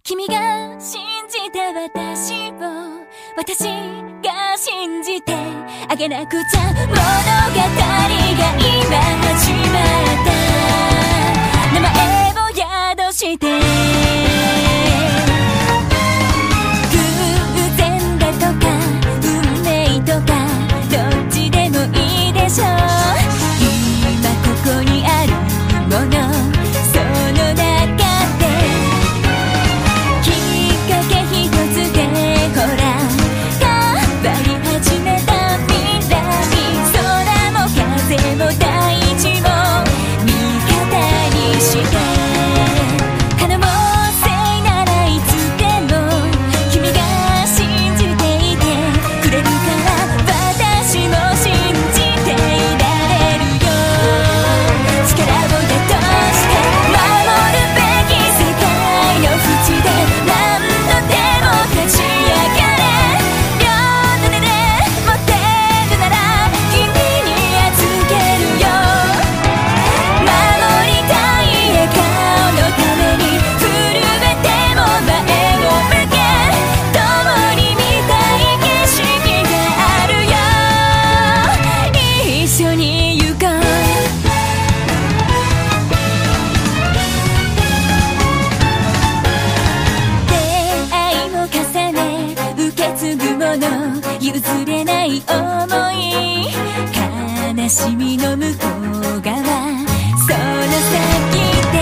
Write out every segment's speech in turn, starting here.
君が信じた私を私が信じてあげなくちゃ。物語が今始まった。名前を宿して偶然だとか運命とかどっちでもいいでしょう。今ここにあるもの、その中できっかけ一つでほら変わり始めた未来。空も風も大地も味方にして可能性ならいつでも君が信じていてくれるから私も信じていられるよ。力を出として守るべき世界の淵で何度でも立ち上がれ。両手で持ってるなら君に預けるよ。守りたい笑顔のために震えても前を向け。共に見たい景色があるよ。一緒に行こう。出会いを重ね受け継ぐもの、譲れない想い、悲しみの向こう側、その先で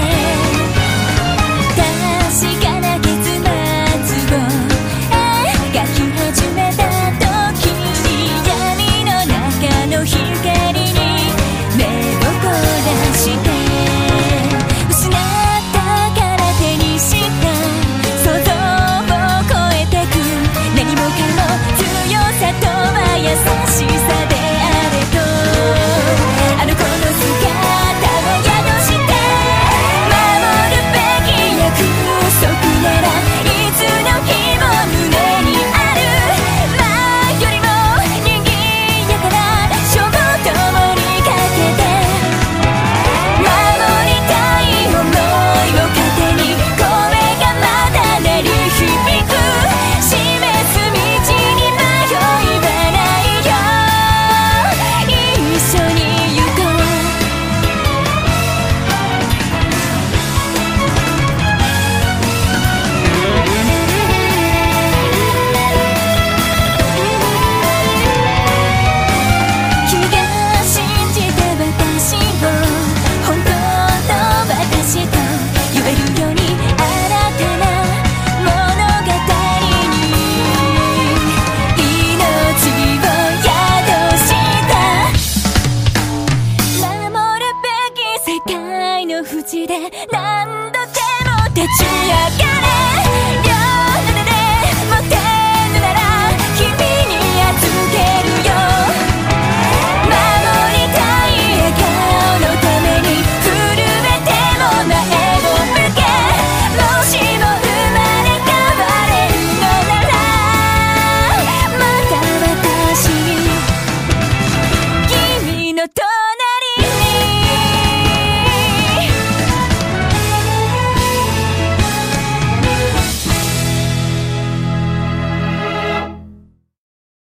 確かな結末を描き始めた時に闇の中の光に目を凝らして失ったから手にした想像を超えてく。何もかも強さとは優しさであれとあの子の姿を宿して守るべき約束ならいつの日も胸にある。前よりも賑やかな衝動共にかけて守りたい想いを糧に声がまだ鳴り響く。示す道に迷いはないよ。一緒に行こう。君が信じた私を本当の私と言えるように新たな物語に命を宿した守るべき世界の淵で何度でも立ち上がれ。両手で持って